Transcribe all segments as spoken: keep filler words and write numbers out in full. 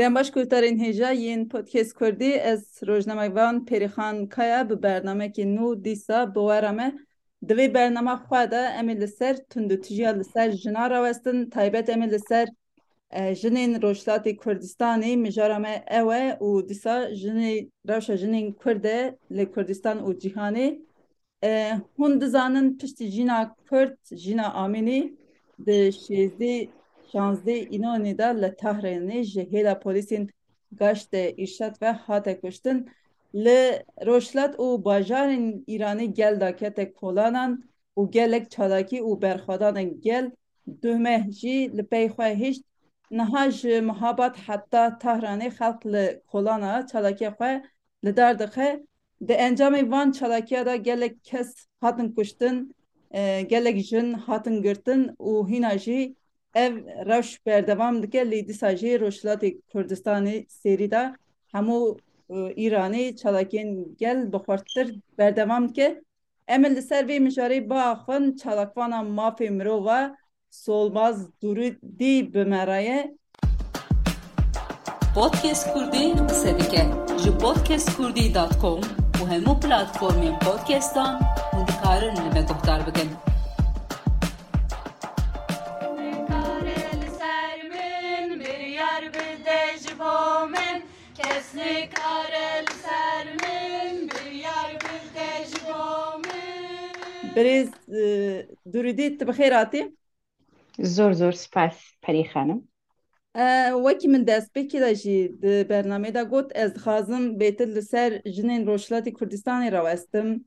دیم باش کلترین هجا یین پودکست کردی از روزنامه وان پریخان کایا به برنامه که نو دیسا بوارمه دوی برنامه خواده امی لسر تندو تجیا لسر جنا راوستن تایبت امی لسر جنین روشلات کردستانی مجارمه اوه و دیسا جنی روش جنین کرده لی کردستان و جهانی هون دزانن پشتی جینا کرد جینا آمینی ده شیزده شانزده اینانی دا لطهرینی جهیلا پولیسین گشت ایشت و حات کشتن لروشلات و باجارین ایرانی گل داکت کولانان و گلک چالاکی و برخوادان گل دومه جی لپی خواه هشت نهاج محابات حتی تهرانی خلق لکولانا چالاکی خواه لدردخه ده انجام وان چالاکیه دا گلک کس هاتن کشتن گلک جن هاتن گرتن و هینا جی ev rewş berdewam dike lê dîsa jî Rojhilatê Kurdistanê serî de hemû Îranê çalakiyên gel bi xwartir berdewam dike. Em li ser vê mijarê biaxivin çalakvana mafê mirov Solmaz Durudî bi me re ye. Podcast Kurdî qise dike ji podcast kurdî dot com û hemû platformên podcastan hûn dikarin li me guhdar bikin. برێز درودی tu bi xêr hatî? زۆر زۆر سپاس پەری خانم. Wekî min destpêkê de jî di bernamê de got ez dixwazim bêtir li ser jinên Rojhilatê Kurdistanê rawestim.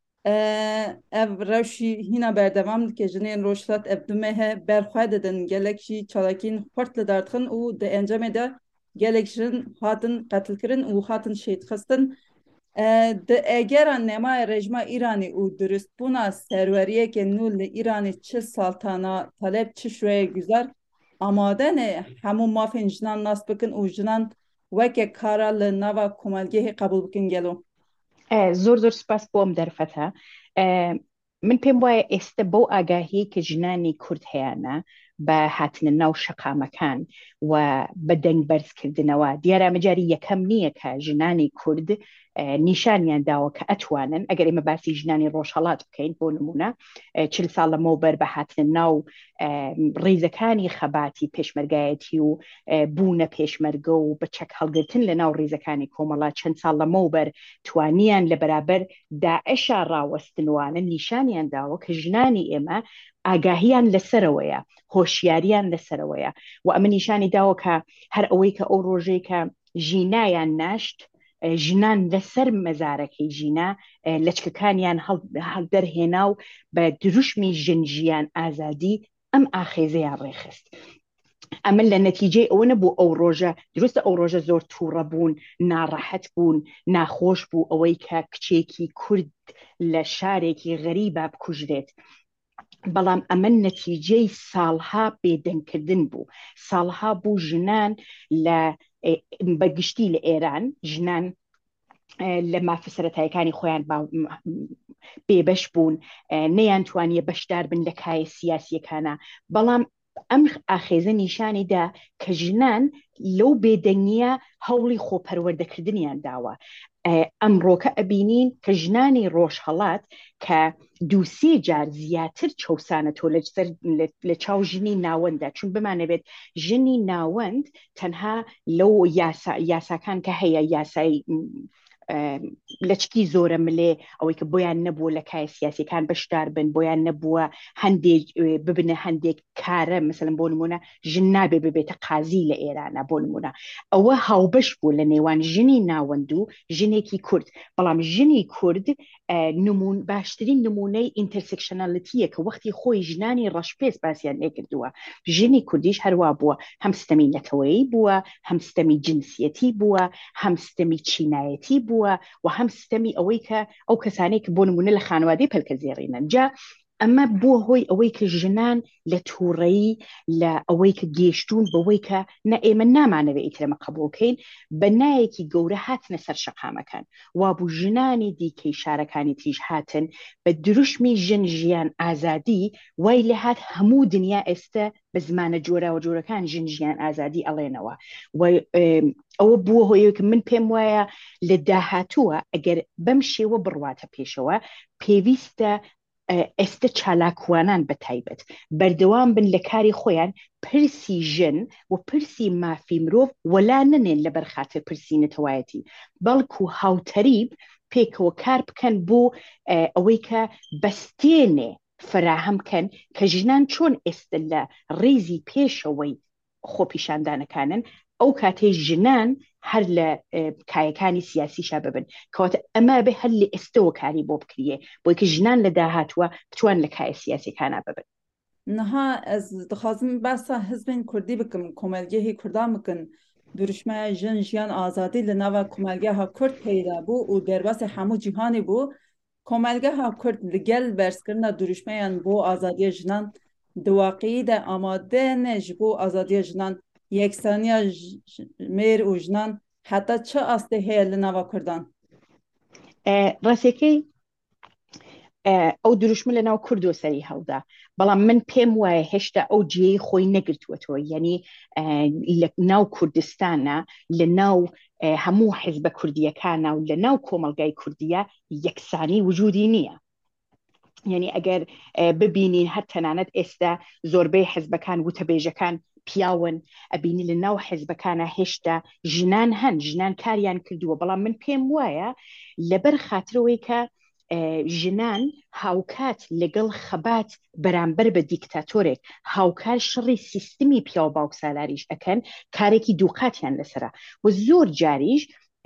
Ev rewşî hîna berdewam dike jinên Rojhilat ev dume he berxwe didin gelek jî çalakiyên xurt li derdixin û di encamê de gelek jin hatin qetilkirin û hatin şêdxistin. Di egera nemaya rejima Îranê û durustbûna serweriyekê nû li Îranê çi saltana talep çi şweye güzar amade ne hemû mafên jinan nas bikin û jinan weke kara li nava komelgehê qebûl bikin gelo. زۆر زۆر سپاس بۆ ئەم دەرفەتە. من پێم وایە ئێستا بەو ئاگاهی کە ژنانی کورد هەیەە بە هاتنە ناو شەقامەکان و بە دەنگ بەرزکردنەوە دیارە مەجاری یەکەم نییە کە ژنانی کورد نیشانیان داوە کە ئەتوانن ئەگەر ئێمە باسی ژنانی ڕۆژهەڵات بکەین بۆ نمونە چل ساڵ لەمەوبەر بە هاتنە ناو ڕیزەکانی خەباتی پێشمەرگایەتی و بوونە پێشمەرگە و بە چەک هەڵگرتن لە ناو ڕیزەکانی کۆمەڵات چەند ساڵ لەمەوبەر توانیان لە بەرابەر داعشا ڕاوەستنوانە نیشانیان داوە کە ژنانی ئێمە ئاگاهیان لەسەرەوەیە هۆشیاریان لەسەرەوەیە و ئەمە نیشانی داوە کە هەر ئەوەی کە ئەو ڕۆژەی کە ژینایان ناشت ژنان لەسەر مەزارەکەی ژینا لەچکەکانیان هەڵدەرهێنا و بە دروشمی ژنجیان ئازادی ئەم ئاخێزەیان ڕێخست. ئەمە لە نەتیجەی ئەوە نەبوو ئەو ڕۆژە دروستە ئەو ڕۆژە زۆر تووڕە بوون ناڕەحەت بوون ناخۆش بوو ئەوەی کە کچێکی کورد لە شارێکی غەریبە بکوژرێت. بەڵام ئەمە نەتیجەی ساڵها بێدەنگکردن بوو ساڵها بوو ژنان لە بەگشتی لە ئێران ژنان لە مافە سەرەتاییەکانی خۆیان بێبەش بوون نەیان توانیە بەشدار بن لە کایە سیاسیەکانە بەڵام ئەم ئاخێزە نیشانیدا کە ژنان لەو بێدەنگیە هەوڵی خۆپەروەردەکردنیان داوە. ئەمڕۆکە ئەبینین کە ژنانی ڕۆژهەڵات کە دووسێ جار زیاتر چەسانە تۆ لە چاو ژنی ناوەندە چون بمانەبێت ژنی ناوەند تەنها لەو یاساکان کە هەیە یاسای لەچکی زۆرە ملێ ئەوەی کە بۆیان نەبووە لە کای سیاسیەکان بەشدار بن بۆیان نەبووە هەندێک ببنە هەندێک کارە مثلەن بۆ نمونە ژن نابێ ببێتە قازی لە ئێرانە بۆ نمونە ئەوە هاوبەش بوو لە نێوان ژنی ناوەند و ژنێکی کورد بەڵام ژنی کورد نمون باشترین نمونەی ئینتەرسێکشنەڵەتیە کە وەختی خۆی ژنانی ڕەشپێس باسییان لێکردووە ژنی کوردیش هەروە بووە هەم ستەمی نەتەوەیی بووە هەم ستەمی جنسیەتی بووە هەم ستەمی چینایەتی بووە و هەم ستەمی ئەوەی کە ئەو کەسانەی کە بۆ نمونە لە خانوادەی پەلکە زێڕینن جا ئەمە بووە هۆی ئەوەی کە ژنان لە تووڕەیی لە ئەوەی کە گەیشتون بەوەی کە نە ئێمە نامانەوێت ئیترەمە قبولکەین بە نایەکی گەورە هاتنە سەر شەقامەکان وابوو ژنانی دیکەی شارەکانی تریش هاتن بە دروشمی ژن ژیان ئازادی وای لە هات هەموو دنیا ئێستا بە زمانە جۆراوە جۆرەکان ژن ژیان ئازادی ئەڵێنەوە ئەوە بووە هۆیەوە من پێم وایە لە داهاتووە ئەگەر بەم شێوە بڕواتە پێشەوە پێویستە ئێستا چالاکوانان بە تایبەت بەردەوام بن لە کاری خۆیان پرسی ژن و پرسی مافی مرۆڤ وەلا نەنێن لە بەرخاتر پرسی نەتەوایەتی بەڵکو هاوتەریب پێکەوە کار بکەن بۆ ئەوەی کە بەستێنێ فراهەمکەن کە ژنان چۆن ئێستا لە ڕێزی پێشەوەی خۆپیشاندانەکانن ئەو کاتێ ژنان هەر لە کایەکانی سیاسیشا ببن کەواتە ئەمە بێ هەر لە ئێستەوە کاری بۆ بکرێ بۆی کە ژنان لە داهاتوە بتوان لە کایە سیاسیەکانە ببن. نها ez dixwazim behsa hizbên Kurdî bikim Komelgehê Kurdan bikin duruşmaya jin jiyan azadî li nava Komelgeha Kurd peyda bû û derbasê hemû cîhanê bû Komelgeha Kurd li gel berskirina duruşmeyan bo azadiya jinan di waqîyî de amade ne ji bo azadiya jinan yeksaniya mêr û jinan heta çi astê heye li nava Kurdan? ڕاستەکەی ئەو دروشمە لە ناو کورد و سەری هەڵدا بەڵام من پێم وایە هێشتا ئەو جێی خۆی نەگرتووەتەوە یعنی لە ناو کوردستانە لە ناو هەموو حیزبە کوردیەکانە و لە ناو کۆمەلگای کوردیە یەکسانی وجودی نییە یعنی ئەگەر ببینین هەر تەنانەت ئێستا زۆربەی حیزبەکان وتەبێژەکان پیاون ئەبینی لە ناو حیزبەکانە هێشتا ژنان هەن ژنان کاریان کردووە بەڵام من پێم وایە لەبەر خاترەوەی کە ژنان هاوکات لەگەڵ خەبات بەرامبەر بە دیکتاتۆرێک هاوکار شڕی سیستمی پیا و باوک سالاریش ئەکەن کارێکی دووقاتیان لەسرە و زۆر جاریش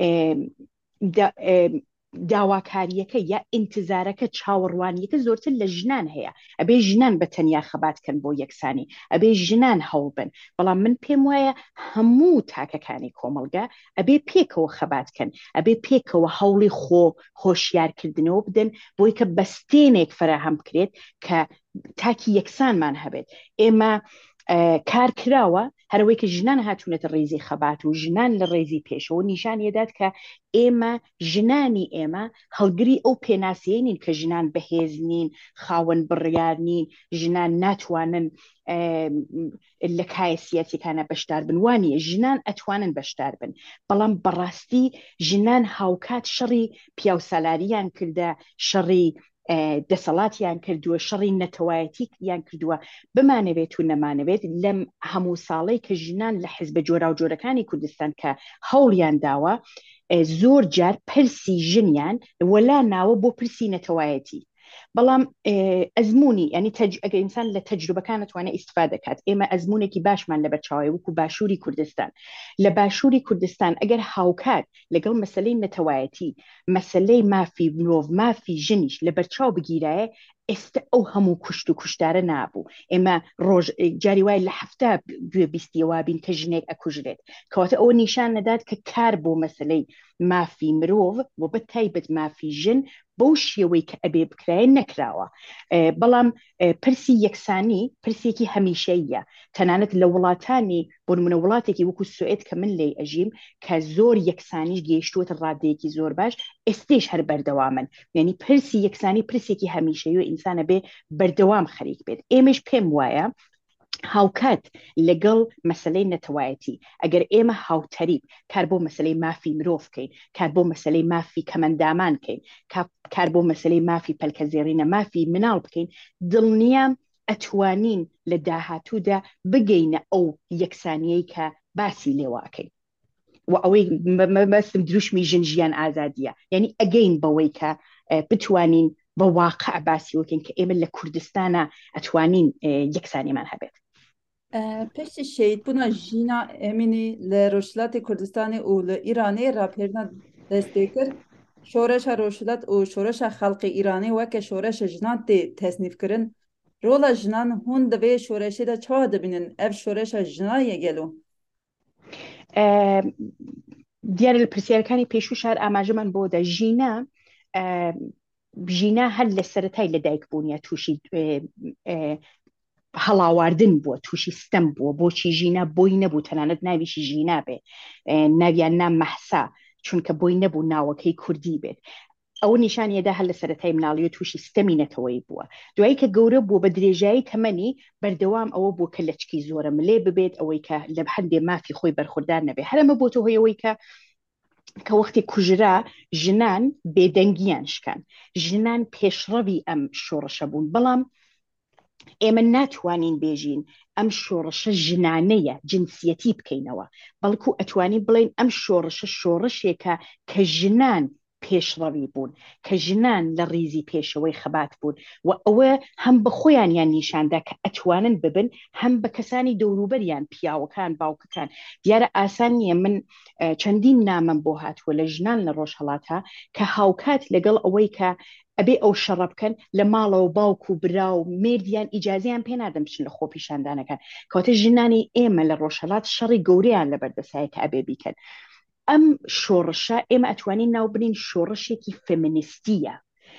داواکاریەکە یا ئینتزارەکە چاوەڕوانیەکە زۆرتر لە ژنان هەیە ئەبێ ژنان بە تەنیا خەباتکەن بۆ یەکسانی ئەبێ ژنان هەوڵ بن بەڵام من پێم وایە هەموو تاکەکانی کۆمەلگا ئەبێ پێکەوە خەباتکەن ئەبێ پێکەوە هەوڵی خۆ هۆشیارکردنەوە بدەن بۆی کە بەستێنێک فراهەم بکرێت کە تاکی یەکسانمان هەبێت ئێمە کار کراوە هەروەی کە ژنان هاتوونەتە ڕێزی خەبات و ژنان لە ڕێزی پێشەوە نیشانیەدات کە ئێمە ژنانی ئێمە هەڵگری ئەو پێناسیەی نین کە ژنان بەهێز نین خاوەن بڕیار نین ژنان ناتوانن لە کایە سیاسیەکانە بەشدار بن وانییە ژنان ئەتوانن بەشدار بن بەڵام بەڕاستی ژنان هاوکات شەڕی پیاوسالاریان کردە شەڕی دەسەڵاتیان کردووە شەڕی نەتەوایەتی یان کردووە بمانەوێت و نەمانەوێت لەم هەموو ساڵەی کە ژنان لە حیزبە جۆرا و جۆرەکانی کوردستان کە هەوڵیان داوە زۆر جار پرسی ژنیان وەلا ناوە بۆ پرسی نەتەوایەتی بەڵام ئەزمموی ینی ئەگە ئینسان لە تەجروبەکان توانێت ئیسفادە دەکات ئێمە ئەزمونێکی باشمان لە بەرچاوی وەکو باشووری کوردستان لە باشووری کوردستان ئەگەر هاوکات لەگەڵ مەسلەی نەتەوایەتی مەسلەی مافی مرۆڤ مافی ژنیش لە بەرچاو بگیرایە ئێستا ئەو هەموو کوشت و کوشتارە نابوو ئێمە ڕۆژ جاری وای لە هەفتە گوێ بیستیەوە بین کە ژنێک ئەکوژرێت کەواتە ئەوە نیشان نەدات کە کار بۆ مەسلەی مافی مرۆڤ و بە تایبەت مافی ژن بەو شێوەی کە ئەبێ بکرای نەکراوە بەڵام پرسی یەکسانی پرسێکی هەمیشەیە تەنانەت لە وڵاتانی بۆ نمونە وڵاتێکی وەکو سوئێد کە من لێی ئەژیم کە زۆر یەکسانیش گەیشتووەتە ڕادەیەکی زۆر باش ئێستێش هەر بەردەوامن یعنی پرسی یەکسانی پرسێکی هەمیشەیی و ئینسانە بێ بەردەوام خەریک بێت ئێمەش پێم وایە هاوکات لەگەڵ مەسلەی نەتەوایەتی ئەگەر ئێمە هاوتەریب کار بۆ مەسلەی مافی مرۆڤ بکەین کار بۆ مەسلەی مافی کەمەندامان بکەین کار بۆ مەسلەی مافی پەلکەزێڕینە مافی مناڵ بکەین دڵنیام ئەتوانین لە داهاتوودا بگەینە ئەو یەکسانیەی کە باسی لێواکەین و ئەوەی مەبەستم دروشمی ژن ژیان ئازادیە یعنی ئەگەین بەوەی کە بتوانین بە واقع باسی وەکەین کە ئێمە لە کوردستانە ئەتوانین یەکسانیمان هەبێت. پشتی شهیدبوونا ژینا ئەمینی لە ڕۆژهەڵاتی کوردستانی و لە ئیرانی ڕاپێرنا دەستێ کرد شۆرەشە ڕۆژهەڵات و شۆرەشە خەڵقی ئیرانی وەکە شۆرەشە ژنان تێ تەسنیفکردن ڕۆڵە ژنان هون دەبێ شۆرەشێدا چاوا دەبینن ئەف شۆرەشە ژنایە گەلو دیارە لە پرسیارەکانی پێشوو شار ئاماژەمان بۆ دە ژینە ژینە هەر لە سەرەتای لەدایکبوونیە تووشی هەڵاواردن بووە، تووشی ستەم بووە. بۆچی ژینە بۆی نەبوو تەنانەت ناویشی ژینا بێ، ناویان نام مەحسا، چونکە بۆی نەبوو ناوەکەی کوردی بێت. ئەو نیشانیەدا هەر لە سەرەتای مناڵی و تووشی ستەمی نەتەوەی بووە. دوایی کە گەورە بوو بە درێژایی تەمەنی بەردەوام ئەوە بوو کە لەچکی زۆرە ملێ ببێت، ئەوەی کە لە هەندێ مافی خۆی بەرخوردار نەبێت. هەرەمە بۆ تۆ هۆیەوەی کە کە وەختی کوژرا ژنان بێدەنگیان شکان، ژنان پێشڕەوی ئەم شۆڕشە بوون. بەڵام ئێمە ناتوانین بێژین ئەم شۆڕشە ژنانەیە جنسیەتی بکەینەوە، بەڵکو ئەتوانی بڵین ئەم شۆڕشە شۆڕشێکە کە ژنان پێشڕەوی بوون، کە ژنان لە ڕیزی پێشەوەی خەبات بوون و ئەوە هەم بە خۆیان یان نیشاندا کە ئەتوانن ببن، هەم بە کەسانی دەوروبەریان پیاوەکان باوکەکان. دیارە ئاسان نییە. من چەندین نامم بۆ هاتووە لە ژنان لە ڕۆژهەڵاتە کە هاوکات لەگەڵ ئەوەی کە ئەبێ ئەو شەڕە بکەن لە ماڵەوە باوک و برا و مێردیان ئیجازیان پێ نادەم بچن لە خۆپیشاندانەکان، کەواتە ژنانی ئێمە لە ڕۆژهەڵات شەڕی گەورەیان لەبەردەسایە کە ئەبێ بیکەن. ئەم شۆڕشە ئێمە ئەتوانین ناو بنین شۆڕشێکی فێمینیستیە،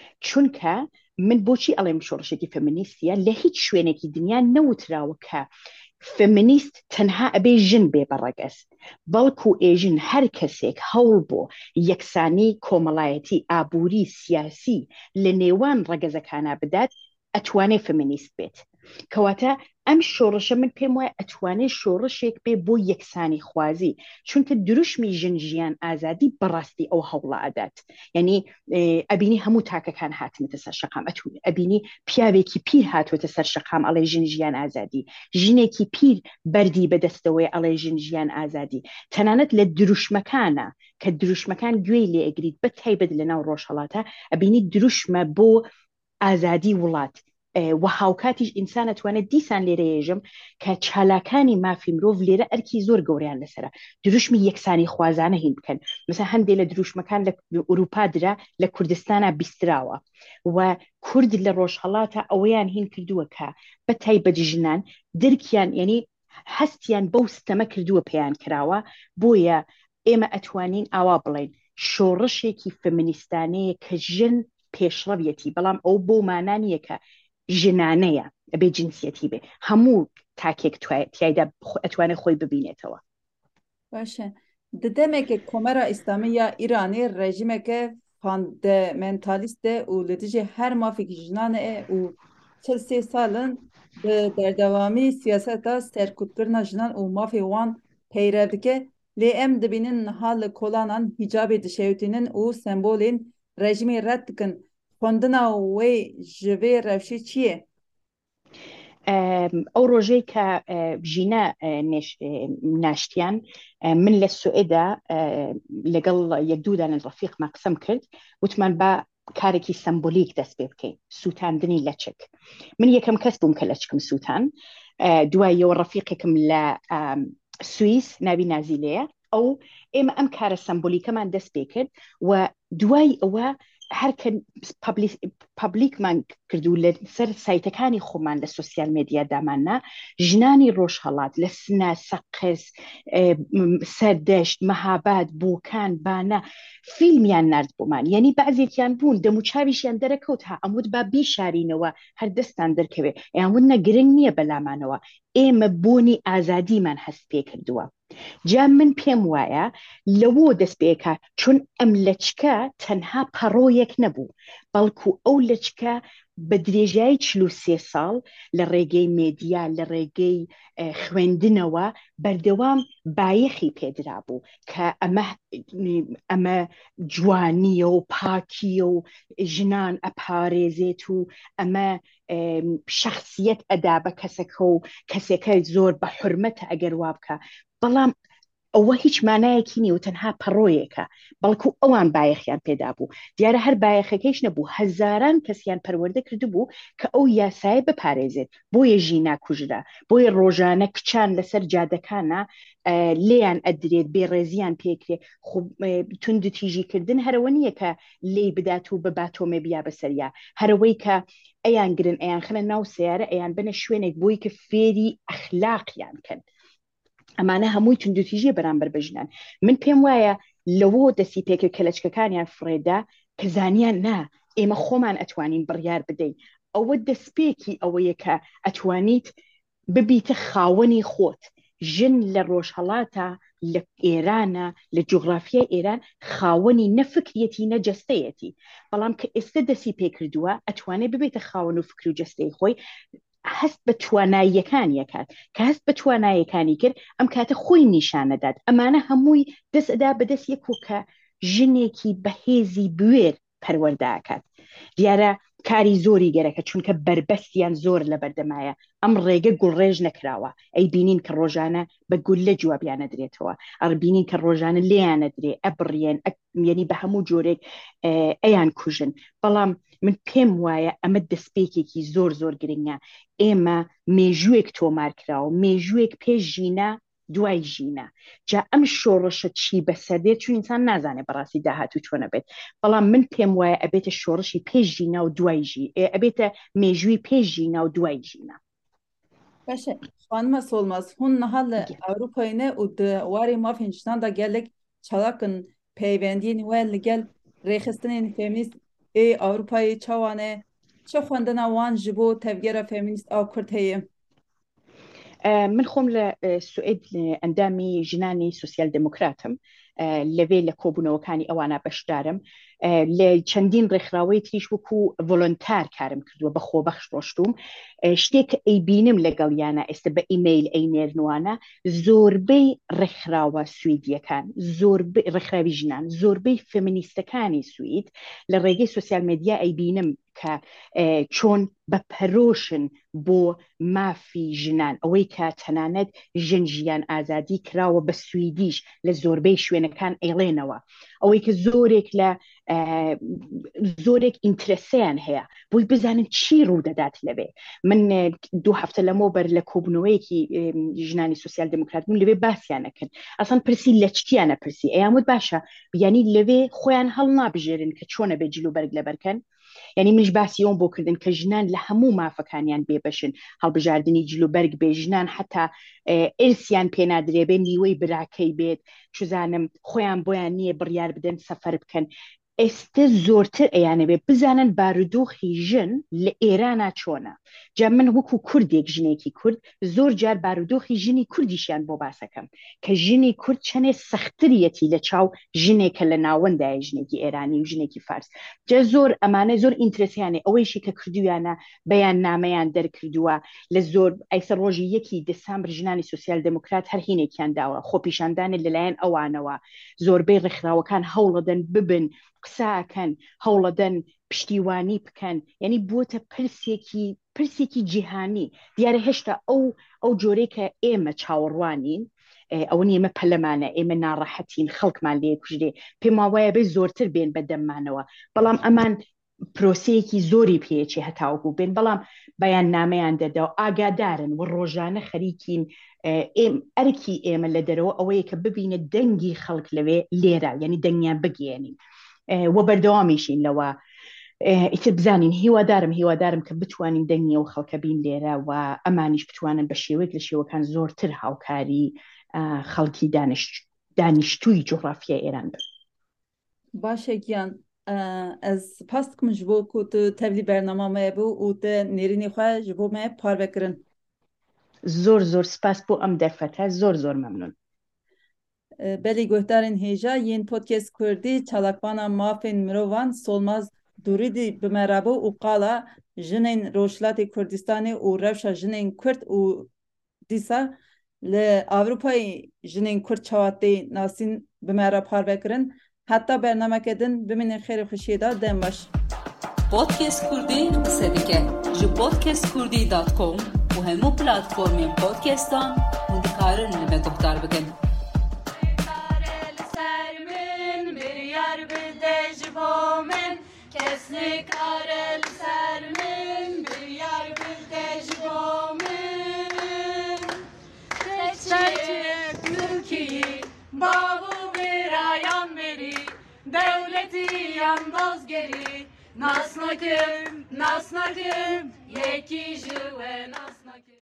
چونکە من بۆچی ئەڵێم شۆڕشێکی فێمینیستیە؟ لە هیچ شوێنێکی دنیا نەوتراوە کە فێمینیست تەنها ئەبێ ژن بێ بەڕەگەز، بەڵکو ئێژن هەر کەسێک هەوڵ بۆ یەکسانی کۆمەڵایەتی ئابووری سیاسی لە نێوان ڕەگەزەکانە بدات ئەتوانێ فێمینیست بێت. کەواتە ئەم شۆڕشە من پێم وایە ئەتوانێت شۆڕشێک بێ بۆ یەکسانی خوازی، چونکە دروشمی ژن ژیان ئازادی بەڕاستی ئەو هەوڵە ئەدات. یعنی ئەبینی هەموو تاکەکان هاتنێتە سەر شەقام، ئەبینی پیاوێکی پیر هاتوێتە سەر شەقام ئەڵێ ژن ژیان ئازادی، ژنێکی پیر بەردی بەدەستەوەی ئەڵێ ژن ژیان ئازادی. تەنانەت لە دروشمەکانە کە دروشمەکان گوێی لێ ئەگریت بە تایبەت لە ناو ڕۆژهەڵاتە، ئەبینی دروشمە بۆ ئازادی وڵات و هاوکاتیش ئینسان ئەتوانێت دیسان لێرە ێژم کە چالاکانی مافی مرۆڤ لێرە ئەرکی زۆر گەوریان لەسرە دروشمی یەکسانی خوازانە هین بکەن. مثلا هەندێک لە دروشمەکان لە ئوروپا درا لە کوردستانە بیستراوە و کورد لە ڕۆژهەڵاتە ئەوەیان هین کردووە کە بە تایبەت ژنان درکیان، یعنی هەستیان بەو ستەمە کردووە پێیان کراوە. بۆیە ئێمە ئەتوانین ئاوا بڵین شۆڕشێکی فێمینیستانەیە کە ژن پێشڕەویەتی، بەڵام ئەو بۆ مانانیە کە ژنانەیە ئەبێ جنسیەتی بێ، هەموو تاکێک تایدا ئەتوانێت خۆی ببینێتەوە. باشە ددەمێکێ کۆمەرە ئیسلامی یا ئیرانی ڕێژیمێکە فاندامنتالیستە و لە دژێ هەر مافێکی ژنانە و چل سێ ساڵن bi derdewamî siyaseta serkûtkirina jinan û mafê wan peyrev dike. Lê em dibînin niha li kolanan hîcabê dişewitînin û sembolên rejimê red dikin. Xwendina wê ji vê rewşê çi ye? ئەو ڕۆژەی کە ژینە ناشتیان من لە سوئێدا لەگەڵ یەک دوودان ڕەفیقمان قسەم کرد، وتمان بە کارێکی سمبۆلیک دەست پێ بکەین، سووتاندنی لەچک. من یەکەم کەس بووم کە لەچکم سووتان، دوایەوە ڕەفیقێکم لە سوئیس ناوی نازیلەیە، ئەو ئێمە ئەم کارە سمبۆلیکەمان دەست پێ کرد و دوای ئەوە هەرکە پابلیکمان کردو لە سەر سایتەکانی خۆمان لە سوسیال مێدیا داماننا، ژنانی ڕۆژهەڵات لە سنە سەقز سەردەشت مەهاباد بۆکان بانە فیلمیان نرد بۆمان، یعنی بەعزێکیان بوون دەموچاویشیان دەرەکەوت ها ئەمود با بیشارینەوە هەر دەستان دەرکەوێ ئەیانون نەگرنگ نییە بەلامانەوە، ئێمە بۆنی ئازادیمان هەست پێ کردووە. جا من پێم وایە لەوە دەست پێکە، چون ئەم لەچکە تەنها پەڕۆیەک نەبوو، بەڵکو ئەو لەچکە بە درێژایی چل و سێ ساڵ لە ڕێگەی مێدیا لە ڕێگەی خوێندنەوە بەردەوام بایەخی پێدرا بوو کە ئەمە ئەمە جوانیە و پاکیە و ژنان ئەپارێزێت و ئەمە شەخسیەت ئەدا بە کەسەکە و کەسێکە زۆر بە حورمەتە ئەگەر وا بکە. بەڵام ئەوە هیچ مانایەکی نیە و تەنها پەڕۆیەکە، بەڵکو ئەوان بایەخیان پێدا بوو. دیارە هەر بایەخەکەیش نەبوو، هەزاران کەسیان پەروەردە کرده بوو کە ئەو یاسایە بپارێزێت. بۆیە ژینا کوژرا، بۆیە ڕۆژانە کچان لەسەر جادەکانە لێیان ئەدرێت، بێڕێزیان پێکرێ. توندتیژیکردن هەرەوە نییە کە لێی بدات و بە باتۆمێ بیا بەسەریا، هەرەوەی کە ئەیان گرن ئەیان خنە ناو سیارە ئەیان بنە شوێنێک بۆی کە فێری ئەخلاقیان کەن. ئەمانە هەمووی توندوتیژیە بەرامبەر بەژنان. من پێم وایە لەوە دەستی پێکرد کە لەچکەکانیان فڕێدا کە زانیان نا ئێمە خۆمان ئەتوانین بڕیار بدەین ئەوە دەستپێکی ئەوەیە کە ئەتوانیت ببیتە خاوەنی خۆت ژن لە ڕۆژهەڵاتە لە ئێرانە لە جوغرافیای ئێران خاوەنی نەفکرەتی نەجەستەیەتی بەڵام کە ئێستا دەستی پێکردووە ئەتوانێت ببێتە خاوەن و فکر و جەستەی خۆی هەست بە تواناییەکانی کات کە هەست بە تواناییەکانی کرد ئەم کاتە خۆی نیشانەدات ئەمانە هەمووی دەست ئەدا بەدەست یەکو کە ژنێکی بەهێزی بوێر پەروەردەکات دیارە کاری زۆری گەرەکە چونکە بربەستیان زۆر لە بەردەمایە ئەم ڕێگە گوڵڕێژ نەکراوە ئەی بینین کە ڕۆژانە بە گول لە جوابیانە درێتەوە ئەڕ بینین کە ڕۆژانە لێیانە درێ ئەبڕێن یعنی بە هەموو جۆرێک ئەیان کوژن بەڵام من پێم وایە ئەمە دەستپێکێکی زۆر زۆر گرنگە ئێمە مێژوویەک تۆمار کراوە مێژوویەک پێش ژینە دوای ژینە جا ئەم شۆڕشە چی بەسەردێت چون ئینسان نازانێت بەڕاستی داهاتوو چۆنە بێت بەڵام من پێم وایە ئەبێتە شۆڕشی پێش ژینە و دوای ژی ئەبێتە مێژووی پێش ژینە و دوای ژینە باشه خانم سولماز هون نهال ئەوروپاینە و واری مافینشتاندا gelek çalakın peywendiyên we li gel rêxistinên feminîst ê Avrupayê çawane çi xwendina wan ji bo tevgera feminîst a Kurd heye من خۆم لە سوئد ئەندامی ژنانی سوسیال دموکراتم لەوێ لە کۆبوونەوەکانی ئەوانە بەشدارم لە چەندین ڕێکخراوەی تریش وەکو ڤۆلۆنتار کارم کردووە بە خۆبەخش ڕۆشتوم شتێک کە ئەی بینم لەگەڵیانە ئێستا بە ئیمەیل ئەی نێرنوانە زۆربەی ڕێکخراوە سویدیەکان زۆربەی ڕێکخراوی ژنان زۆربەی فێمینیستەکانی سوید لە ڕێگەی سوسیال مێدیا ئەی بینم کە چۆن بە پەرۆشن بۆ مافی ژنان ئەوەی کە تەنانەت ژن ژیان ئازادی کراوە بە سویدیش لە زۆربەی شوێنەکان ئەیڵێنەوە ئەوەی کە زۆرێک لە زۆرێک ئینترسیان هەیە بۆی بزانن چی ڕوو دەدات لەوێ من دوو هەفتە لەمەوە بەر لە کۆبوونەوەیەکی ژنانی سوسیال دموکرات بوون لەوێ باسییان نەکرد ئەسان پرسی لە چتیانە پرسی ئەیاموت باشە بیانی لەوێ خۆیان هەڵ نابژێرن کە چۆنە بێ جلوبەرگ لەبەرکەن یعنی منش باسی ئەوم بۆ کردن کە ژنان لە هەموو مافەکانیان بێبەشن هەڵبژاردننی جلوبەرگ بێ ژنان حتا ئرسیان پێنادرێ بێ نیوەی براکەی بێت چزانم خۆیان بۆیان نییە بڕیار بدەن سەفەر بکەن ئێستا زۆرتر ئەیانەوێ بزانن بارودۆخی ژن لە ئێرانە چۆنە جا من وەکو کوردێک ژنێکی کورد زۆر جار بارودۆخی ژنی کوردیشیان بۆ باسەکەم کە ژنی کورد چەنێ سەختریەتی لە چاو ژنێکە لە ناوەندای ژنێکی ئێرانی و ژنێکی فارس جا زۆر ئەمانە زۆر ئینترسیانێ ئەوەیشی کە کردویانە بەیان نامەیان دەرکردووە لە زۆر ئەیسە ڕۆژی یەکی دەسامبر ژنانی سوسیال دموکرات هەر هینێکیان داوە خۆپیشاندانێت لەلایەن ئەوانەوە زۆربەی ڕێکخراوەکان هەوڵەدەن ببن قساکەن هەوڵەدەن پشتیوانی بکەن یعنی بووتە پرسێکی پرسێکی جیهانی دیارە هێشتا ئەو ئەو جۆرەی کە ئێمە چاوەڕوانین ئەوە ئێمە پەلەمانە ئێمە ناڕەحەتین خەڵکمان لێ کوژدێ پێم وایە بێ زۆرتر بێن بەدەممانەوە بەڵام ئەمان پرۆسەیەکی زۆری پێچی هەتاوەکو بێن بەڵام بەیان نامەیان دەدا و ئاگادارن و ڕۆژانە خەریکین ئەرکی ئێمە لە دەرەوە ئەوەیە کە ببینە دەنگی خەڵک لەوێ لێرە یعنی دەنگیان بگێنین وە بەردەوامیشین لەوە ئیتر بزانین هیوادارم هیوادارم کە بتوانین دەنگی و خەڵکە بین لێرە و ئەمانیش بتوانن بە شێوەیەک لە شێوەکان زۆرتر هاوکاری خەڵکی دانیشتووی جوغرافیای ئێران بن باشه گیان از سپاس دکم ji bo ku tu tevlî bernama me bû û te nêrînê xwe ji bo me parvekirin زۆر زۆر سپاس بۆ ئەم دەرفەتە زۆر زۆر مەمنون belî guhdarên hêja yên podcast Kurdî çalakvana mafên mirovan Solmaz Durîdî bi me rabû û qala jinên Rojhilatê Kurdistanê û rewşa jinên Kurd û dîsa li Avrupayê jinên Kurd çawatê nasîn bi me re parvekirin heta bernameke din bimînin xêrê xwişiyê da dem baş Podcast Kurdî qise dike ji podcast kurdî dot com û hemû platformên podcastan hûn dikarin li me guhdar bikin Kes nikare li ser min bir yar bir de ji bo min Teçhiyek mülkî bavu birayan beri devleti yan dozgeri Nas nakim, nas nakim yekî ji we nas